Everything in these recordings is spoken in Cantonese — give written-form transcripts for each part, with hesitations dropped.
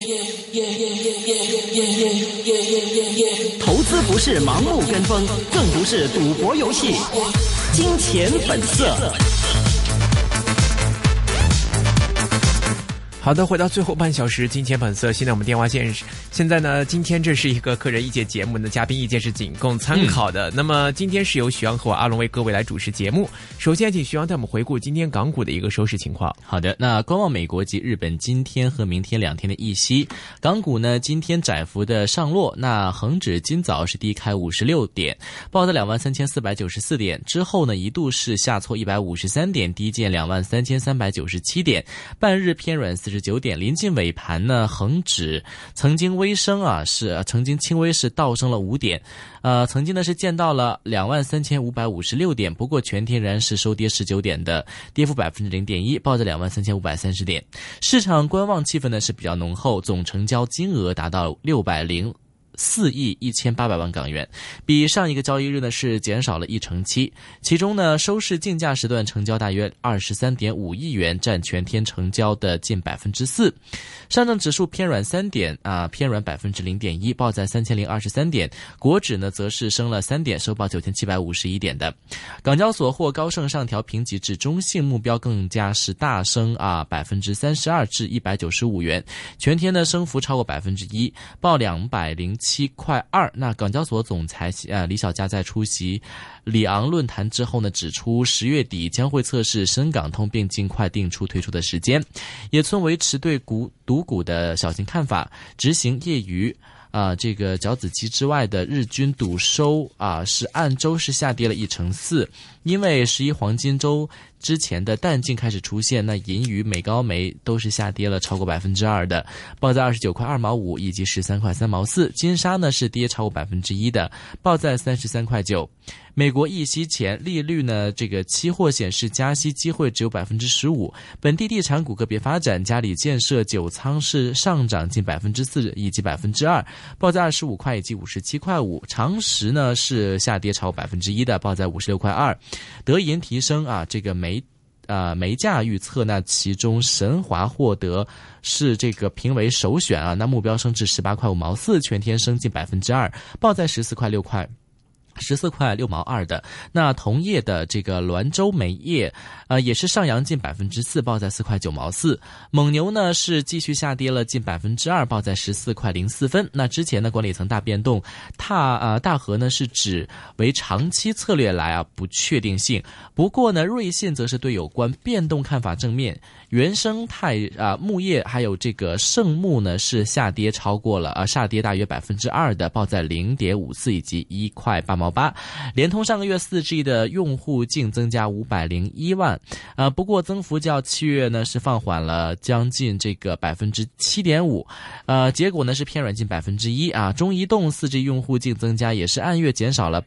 投资不是盲目跟风，更不是赌博游戏。金钱本色。好的，回到最后半小时金钱本色。现在我们电话线现在呢，今天这是一个个人意见节目呢，嘉宾意见是仅供参考的。那么今天是由许阳和我阿龙为各位来主持节目。首先请许阳带我们回顾今天港股的一个收市情况。 好的，那观望美国及日本今天和明天2天的议息，港股呢今天窄幅的上落，那恒指今早是低开56点，报在23,494点，之后呢一度是下挫153点，低见23,397点，半日偏软49点，临近尾盘呢，恒指曾经微升啊，曾经轻微是倒升了5点，曾经呢是见到了23,556点，不过全天然是收跌19点的，跌幅0.1%，报在23,530点。市场观望气氛呢是比较浓厚，总成交金额达到604亿1800万港元，比上一个交易日呢是减少了7%，其中呢收市竞价时段成交大约23.5亿元，占全天成交的近4%。上证指数偏软3点偏软0.1%，报在3023点。国指呢则是升了3点，收报9751点的。港交所或高盛上调评级至中性目标，更加是大升32%至195元，全天的升幅超过1%，报207.2。那港交所总裁李小加在出席里昂论坛之后呢，指出10月底将会测试深港通，并尽快定出推出的时间。野村维持对赌股的小型看法，执行业余这个角子机之外的日均赌收是按周是下跌了1%，因为11黄金周之前的淡季开始出现，那银鱼、美高梅都是下跌了超过2%的，报在29.2毛5以及13.3毛4，金沙呢是跌超过1%的，报在33.9。美国议息前利率呢，这个期货显示加息机会只有15%。本地地产股个别发展，嘉里建设9仓是上涨近4%以及2%，报在25块以及57.5。长实呢是下跌超过1%的，报在56.2。德银提升这个煤价预测，那其中神华获得是这个评为首选那目标升至18.5毛4，全天升近2%，报在14.6毛2的。那同业的这个滦州煤业也是上扬近4%，报在4.9毛4。蒙牛呢是继续下跌了近2%，报在14.04。那之前呢管理层大变动，大和呢是指为长期策略来不确定性。不过呢瑞信则是对有关变动看法正面。原生态牧业还有这个圣牧呢是下跌超过了下跌大约2%的，报在0.54以及1.8毛8。联通上个月4G 的用户净增加501万，不过增幅较7月呢是放缓了将近这个7.5%，结果呢是偏软近1%中移动 4G 用户净增加也是按月减少了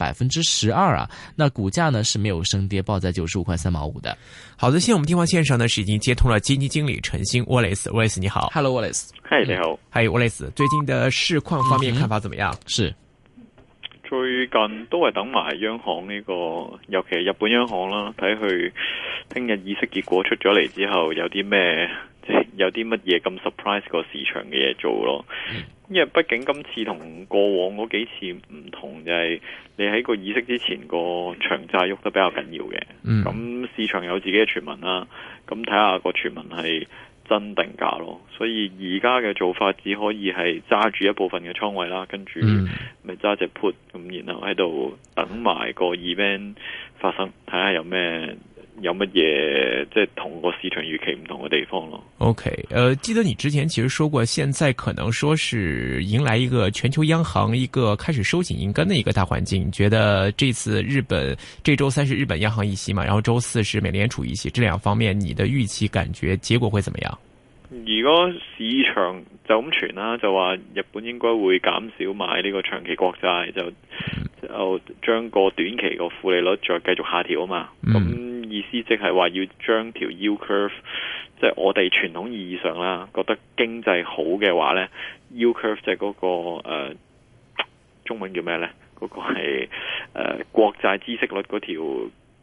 12%那股价呢是没有升跌，报在95.3毛5的。 好的，现在我们电话线上呢是已经接通了基金经理陈昕 Wallace 你好。 Hello Wallace。 嗨，你好。 嗨 Wallace， 最近的市況方面看法怎麼樣？ 是最近都係等埋央行呢個，尤其係日本央行啦，睇佢聽日議息結果出咗嚟之後有啲咩，即係有啲乜嘢咁 surprise 個市場嘅嘢做咯。因為畢竟今次同過往嗰幾次唔同，就係你喺個議息之前個長債喐得比較緊要嘅。咁市場有自己嘅傳聞啦，咁睇下個傳聞係真定假咯，所以而家嘅做法只可以係揸住一部分嘅倉位啦，跟住咪揸隻 put 咁，然後喺度等埋個 event 發生，睇下有乜嘢即係同個市場預期唔同嘅地方咯。 OK， 記得你之前其實說過，現在可能說是迎來一個全球央行一個開始收緊銀根的一個大環境。你覺得這次這周3是日本央行議息嘛，然後周4是美聯儲議息，這兩方面你的預期感覺結果會怎麼樣？ 如果市場就咁傳啦，就話日本應該會減少買呢個長期國債，就將個短期個負利率再繼續下調啊嘛。咁意思即係話要將條 yield curve， 即係我哋傳統意義上啦，覺得經濟好嘅話呢 yield curve 即係嗰個中文叫咩呢？嗰個係國債孳息率嗰條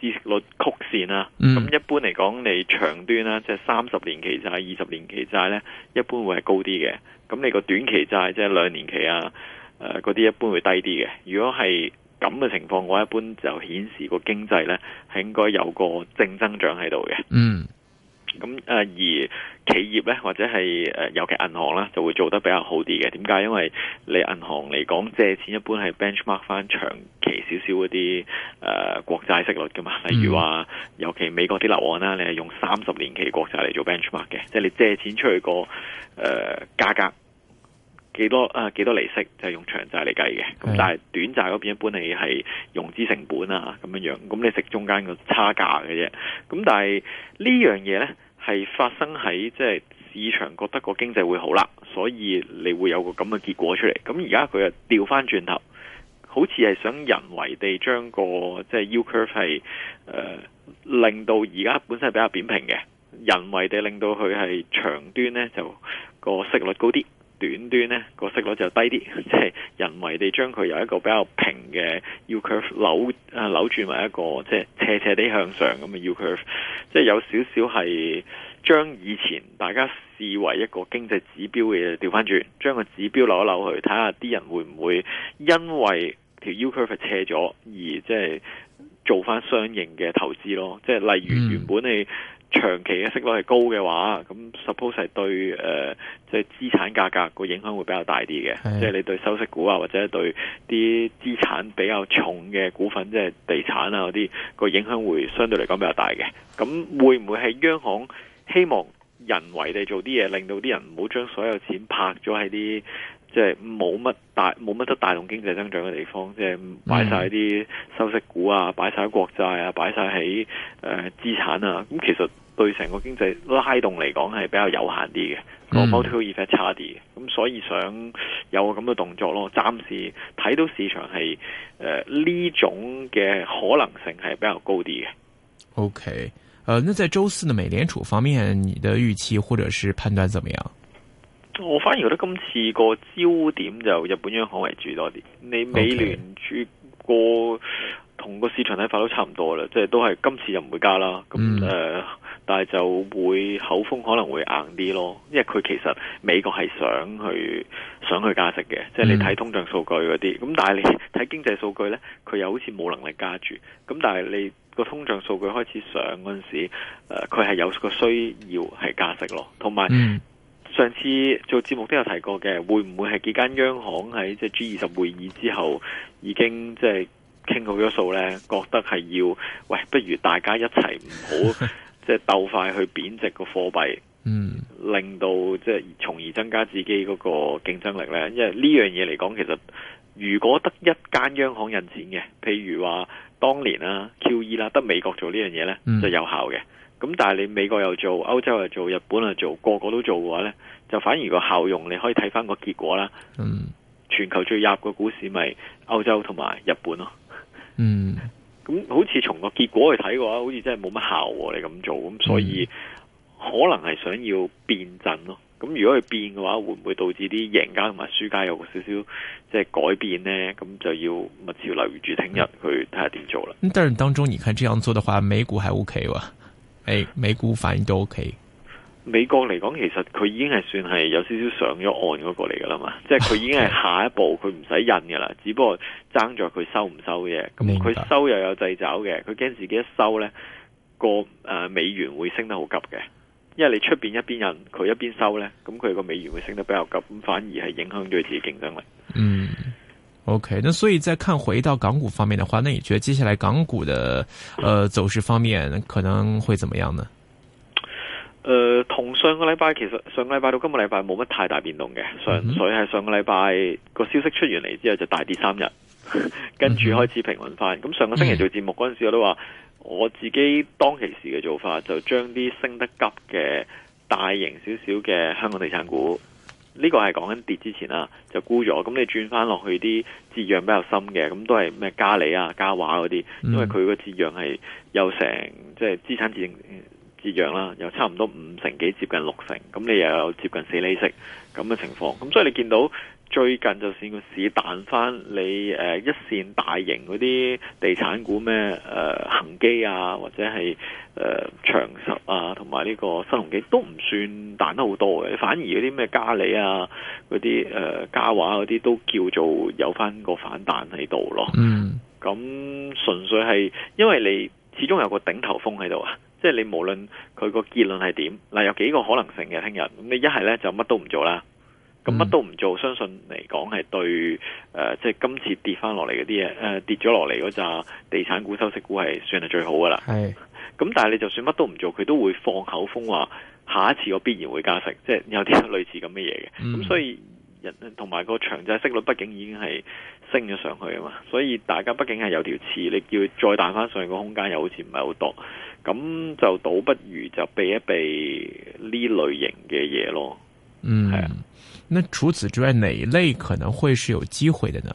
孳息率曲線啦。咁一般嚟講，你長端啦，即係30年期債、20年期債咧，一般會係高啲嘅。咁你個短期債即係2年期啊，嗰啲一般會低啲嘅。如果係咁嘅情況，我一般就顯示個經濟咧係應該有個正增長喺度嘅。咁而企業咧或者係尤其銀行啦，就會做得比較好啲嘅。點解？因為你銀行嚟講借錢一般係 benchmark 翻長期少少嗰啲國債息率噶嘛。例如話，尤其美國啲樓按啦，你係用30年期國債嚟做 benchmark 嘅，即係你借錢出去個價格幾多利息就係用長債嚟計嘅。咁但係短債嗰邊一般你係融資成本啊咁樣，咁你食中間個差價嘅啫。咁但係呢樣嘢咧係發生喺即係市場覺得個經濟會好啦，所以你會有個咁嘅結果出嚟。咁而家佢又調翻轉頭，好似係想人為地將個即係 U curve 係令到而家本身係比較扁平嘅，人為地令到佢係長端咧就個息率高啲，短端呢個息率就低啲，即係人為地將佢由一個比較平嘅 U curve 扭轉為一個即係斜斜地向上咁嘅 U curve， 即係有少少係將以前大家視為一個經濟指標嘅嘢調翻轉，將個指標扭一扭去，睇下啲人會唔會因為條 U curve 斜咗而即係做翻相應嘅投資咯。即係例如原本你長期嘅息率係高嘅話，咁 suppose 係對即係資產價格個影響會比較大啲嘅。即係你對收息股啊，或者對啲資產比較重嘅股份，即係地產啊嗰啲個影響會相對嚟講比較大嘅。咁會唔會係央行希望人為地做啲嘢，令到啲人唔好將所有錢拍咗喺啲即係冇乜得帶動經濟增長嘅地方，即係擺晒啲收息股啊，擺晒喺國債啊，擺晒喺資產啊。咁其實對成個經濟拉動嚟講係比較有限啲嘅，個 multiple effect 差啲嘅。咁所以想有個咁嘅動作咯。暫時睇到市場係呢種嘅可能性係比較高啲嘅。 OK，那在周四的美聯儲方面，你的預期或者是判斷怎麼樣？ 我反而覺得今次個焦點就日本央行為主多啲。你美聯儲個同個市場睇法都差唔多啦，即係都係今次就唔會加啦。咁但係就會口風可能會硬啲咯，因為佢其實美國係想去加息嘅，即係你睇通脹數據嗰啲。咁但係你睇經濟數據呢，佢又好似冇能力加住。咁但係你個通脹數據開始上嗰陣時，佢係有個需要係加息咯，同埋。上次做節目都有提過嘅，會唔會係幾間央行喺即係 G20 會議之後已經即係傾好咗數呢？覺得係要喂，不如大家一齊唔好即係鬥快去貶值個貨幣，令到即係從而增加自己嗰個競爭力呢？因為呢樣嘢嚟講，其實如果得一間央行印錢嘅，譬如話當年啦 QE 啦，得美國做呢樣嘢呢，就有效嘅。咁但係你美國又做，歐洲又做，日本又做，個個都做嘅話呢，就反而個效用你可以睇翻個結果啦。全球最入嘅股市咪歐洲同埋日本咯。咁好似從個結果去睇嘅話，好似真係冇乜效喎。你咁做，咁所以可能係想要變陣咯。咁如果佢變嘅話，會唔會導致啲贏家同埋輸家有個少少即係改變呢？咁就要密切留意住聽日去睇下點做啦。 但係當中，你看這樣做的話，美股還 OK 喎？美股反應都 OK。 美國嚟講，其實佢已經係算係有少少上咗岸嗰個嚟噶啦嘛，即係佢已經係下一步，佢唔使印噶啦，只不過爭咗佢收唔收嘅。咁佢收又有掣肘嘅，佢驚自己一收呢個美元會升得好急嘅，因為你出邊一邊印，佢一邊收呢，咁佢個美元會升得比較急，咁反而係影響咗佢自己競爭力。 OK，那所以再看回到港股方面的話，那你覺得接下來港股的走勢方面可能會怎麼樣呢？ 同上個禮拜，其實上個禮拜到今個禮拜冇乜太大變動嘅，純粹係上個禮拜個消息出完嚟之後就大跌3日，跟住開始平穩翻。咁上個星期做節目嗰陣時，我都話我自己當其時嘅做法就將啲升得急嘅大型少少嘅香港地產股。呢個係講緊跌之前啦，就沽咗。咁你轉翻落去啲折讓比較深嘅，咁都係咩嘉里啊、嘉華嗰啲，因為佢個折讓係有成即係資產折讓啦，有差唔多5成幾，接近6成，咁你又有接近4厘息咁嘅情況，咁所以你見到最近就算個市彈翻，你一線大型嗰啲地產股咩恒基啊，或者係長實啊，同埋呢個新鴻基都唔算彈得好多嘅，反而嗰啲咩嘉里啊，嗰啲嘉華嗰啲都叫做有翻個反彈喺度咯。咁純粹係因為你始終有個頂頭風喺度啊，即係你無論佢個結論係點，嗱有幾個可能性嘅，聽日咁你一係咧就乜都唔做啦。咁乜都唔做，相信嚟講係對即係今次跌翻落嚟嗰啲嘢，跌咗落嚟嗰扎地產股、收息股係算係最好噶啦。咁但係你就算乜都唔做，佢都會放口風話下一次我必然會加息，即係有啲類似咁嘅嘢嘅。咁所以同埋個長債息率畢竟已經係升咗上去啊嘛，所以大家畢竟係有條刺，你叫再彈翻上去個空間又好似唔係好多，咁就倒不如就避一避呢類型嘅嘢咯。係啊。 那除此之外，哪一類可能會是有機會的呢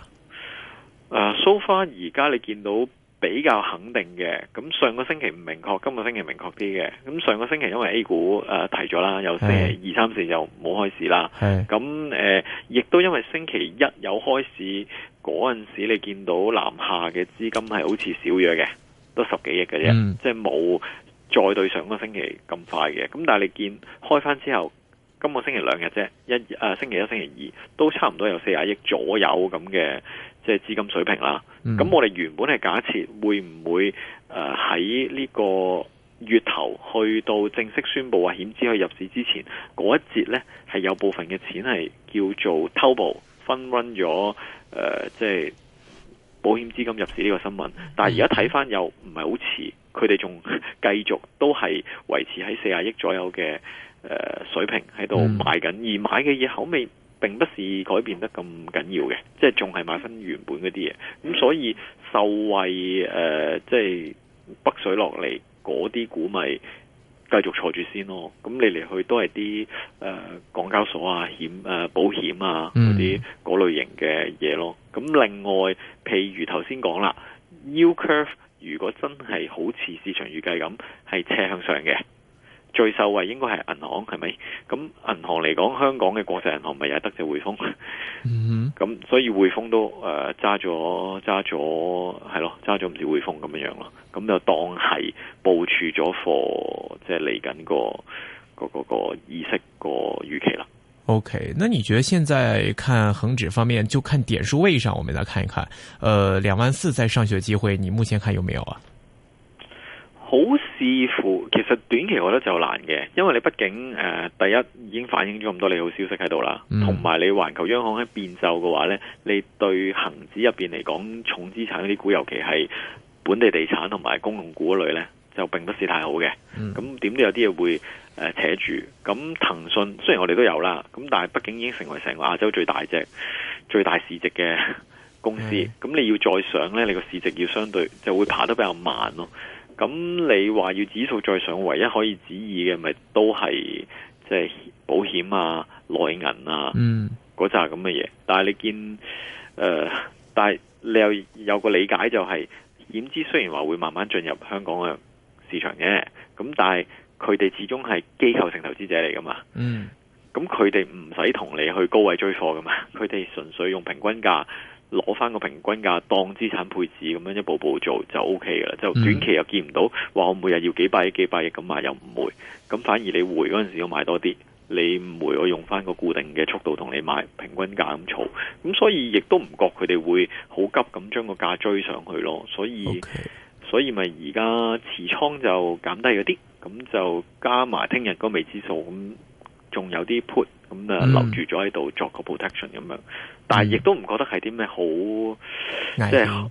？So far 而家你見到比較肯定嘅，咁上個星期唔明確，今個星期明確啲嘅。咁上個星期因為 A 股提咗啦，有星期2、3、4就冇開市啦。咁亦都因為星期一有開市嗰陣時，你見到南下嘅資金係好似少咗嘅，都10幾億嘅啫，即係冇再對上個星期咁快嘅。咁但係你見開翻之後，今個星期2日啫，星期一、星期二都差唔多有40億左右咁嘅即係資金水平啦。咁我哋原本係假設會唔會喺呢個月頭去到正式宣布話險資去入市之前嗰一節呢，係有部分嘅錢係叫做偷步分 run 咗即係保險資金入市呢個新聞。但係而家睇翻又唔係好似，佢哋仲繼續都係維持喺40億左右嘅水平喺度買緊，而買嘅嘢口味並不是改變得咁緊要嘅，即係仲係買翻原本嗰啲嘢。咁所以受惠即係北水落嚟嗰啲股咪繼續坐住先咯。咁你嚟去都係啲港交所啊、保險啊嗰啲嗰類型嘅嘢咯。咁另外，譬如頭先講啦 ，Yield curve 如果真係好似市場預計咁係斜向上嘅。最受惠應該係銀行，係咪？咁銀行嚟講，香港嘅國際銀行咪又係得隻匯豐，咁所以匯豐都揸咗係咯，揸咗唔少匯豐咁樣咯。咁就當係部署咗貨，即係嚟緊個議息個預期啦。 OK，那你覺得現在看恒指方面，就看點數位上，我們來看一看，24,000再上去嘅機會，你目前看有沒有啊？ 好視乎，其實短期我覺得就難嘅，因為你畢竟第一已經反映咗咁多利好消息喺度啦，同埋你環球央行喺變奏嘅話呢，你對恒指入邊嚟講，重資產嗰啲股，尤其係本地地產同埋公用股嗰類呢，就並不是太好嘅。咁點都有啲嘢會扯住。咁騰訊雖然我哋都有啦，咁但係畢竟已經成為成個亞洲最大市值嘅公司，咁你要再上呢，你個市值要相對就會爬得比較慢咯。咁你話要指數再上，唯一可以指意嘅咪都係即係保險啊、內銀啊嗰扎咁嘅嘢。但係你見但係你又有個理解就係險資雖然話會慢慢進入香港嘅市場嘅，咁但係佢哋始終係機構性投資者嚟噶嘛。咁佢哋唔使同你去高位追貨噶嘛，佢哋純粹用平均價。攞翻個平均價當資產配置咁樣一步步做就 OK 嘅啦，就短期又見唔到話我每日要幾百億咁買又唔會，咁反而你回嗰陣時要買多啲，你唔回我用翻個固定嘅速度同你買平均價咁儲，咁所以亦都唔覺佢哋會好急咁將個價追上去咯，所以咪而家持倉就減低咗啲，咁就加埋聽日嗰未知數，咁仲有啲 put。咁留住咗喺度作個 protection 咁樣，但係亦都唔覺得係啲咩好，即係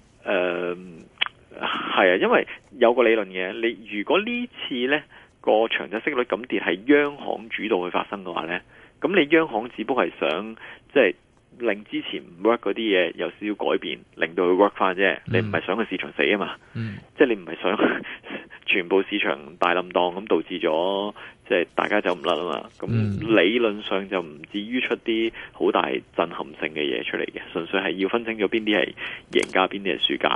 係啊，因為有個理論嘅，你如果呢次呢個長債息率咁跌係央行主導去發生嘅話呢，咁你央行只不過係想即係令之前唔 work 嗰啲嘢有少少改變，令到佢 work 翻啫，你唔係想個市場死啊嘛，即係你唔係想全部市場大冧檔咁導致咗。即係大家走唔甩啊嘛，咁理論上就唔至於出啲好大震撼性嘅嘢出嚟嘅，純粹係要分清咗邊啲係贏家，邊啲係輸家嘅。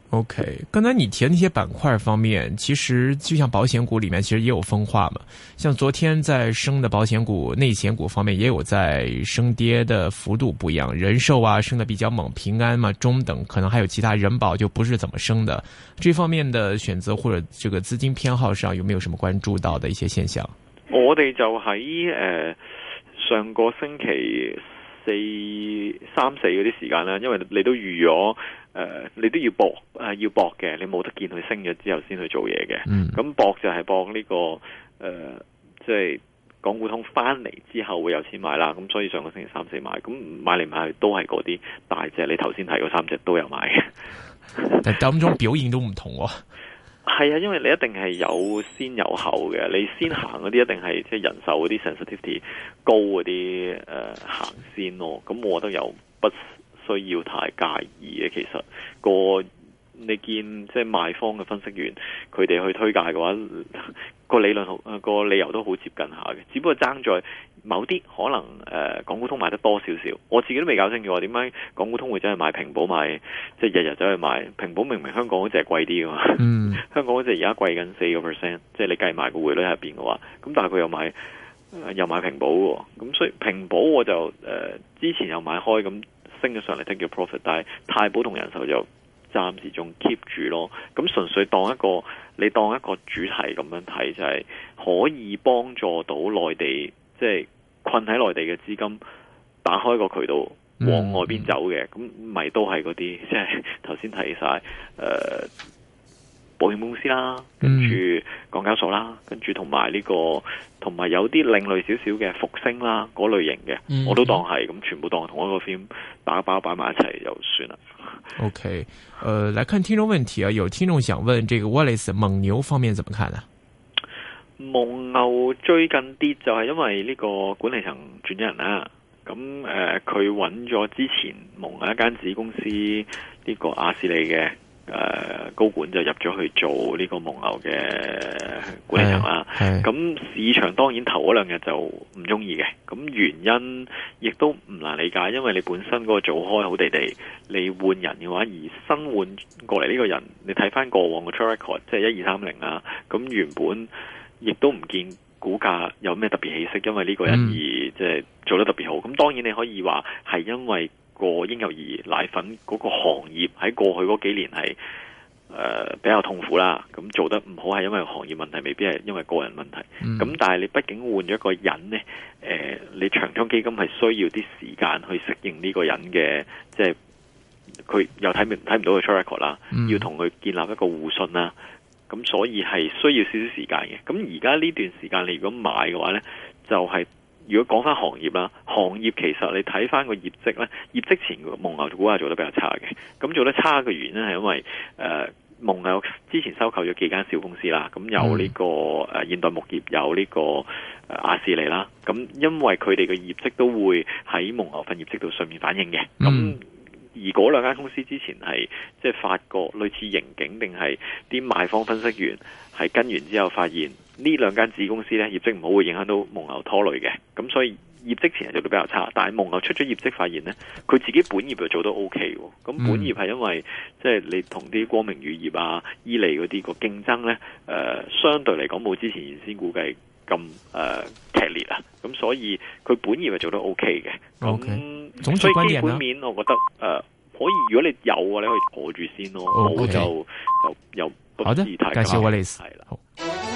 OK， 剛才你提的那些板塊方面，其實就像保險股裏面，其實也有分化嘛。像昨天在升的保險股、內險股方面，也有在升跌的幅度不一樣。人壽啊升得比較猛，平安嘛中等，可能還有其他人保就不是怎麼升的。這方面的選擇或者這個資金偏好上，有沒有什麼關注到的一些現象？ 我哋就喺上個星期三四嗰啲時間啦，因為你都預咗你都要搏嘅，你冇得見佢升咗之後先去做嘢嘅。咁搏就係搏呢個即係港股通翻嚟之後會有錢買啦。咁所以上個星期三四買，咁買嚟買去都係嗰啲大隻，你頭先提嗰三隻都有買嘅。 但當中表現都唔同喎。 係啊，因為你一定係有先有後嘅，你先行嗰啲一定係即係人壽嗰啲 sensitivity 高嗰啲行先咯。咁我覺得又不需要太介意嘅。其實你見即係賣方嘅分析員佢哋去推介嘅話，個理由都好接近下嘅，只不過爭在某啲可能港股通買得多少少，我自己都未搞清楚點解港股通會真係買平保買，即係日日走去買平保，明明香港嗰隻係貴啲噶嘛，香港嗰隻而家貴緊4%，即係你計埋個匯率入邊嘅話，咁但係佢又買平保喎，咁所以平保我就之前又買開，咁升咗上嚟 take 叫 profit， 但係太保同人壽就暫時仲 keep 住咯，咁純粹當一個主題咁樣睇，就係可以幫助到內地，即係困喺內地嘅資金打開個渠道往外邊走嘅，咁咪都係嗰啲即係頭先提晒保險公司啦，跟住港交所啦，跟住同埋有啲另類少少嘅復星啦嗰類型嘅，我都當係咁，全部當同一個 film 打包擺埋一齊就算啦。 OK，來看聽眾問題啊，有聽眾想問，這個 Wallace 蒙牛方面怎麼看呢？ 蒙牛最近跌就係因為呢個管理層轉咗人啦，咁佢揾咗之前蒙牛一間子公司呢個亞視利嘅高管就入咗去做呢個蒙牛嘅管理層啦。咁市場當然頭嗰兩日就唔中意嘅，咁原因亦都唔難理解，因為你本身嗰個做開好地地，你換人嘅話，而新換過嚟呢個人，你睇翻過往嘅 track record， 即係1230啊，咁原本亦都唔見股價有咩特別起色，因為呢個人而即係做得特別好。咁當然你可以話係因為個嬰幼兒奶粉嗰個行業喺過去嗰幾年係比較痛苦啦，咁做得唔好係因為行業問題，未必係因為個人問題。咁但係你畢竟換咗一個人呢，你長倉基金係需要啲時間去適應呢個人嘅，即係佢又睇唔到個 track record 啦，要同佢建立一個互信啦。咁所以係需要少少時間嘅。咁而家呢段時間你如果買嘅話呢，就係如果講翻行業啦，行業其實你睇翻個業績呢，業績前蒙牛股價做得比較差嘅。咁做得差嘅原因係因為蒙牛之前收購咗幾間小公司啦，咁有呢個現代牧業，有呢個亞視利啦。咁因為佢哋嘅業績都會喺蒙牛份業績度上面反映嘅。咁而嗰兩間公司之前係即係發過類似盈警，定係啲賣方分析員係跟完之後發現呢兩間子公司呢業績唔好，會影響到蒙牛拖累嘅。咁所以業績前係做得比較差，但係蒙牛出咗業績發現呢，佢自己本業就做得 OK 喎。咁本業係因為即係你同啲光明乳業啊、伊利嗰啲個競爭呢，相對嚟講冇之前原先估計咁劇烈啊。咁所以佢本業係做得 OK 嘅。咁所以基本面我覺得可以，如果你有嘅，你可以坐住先咯。冇就又不是太。 介紹我哋係啦。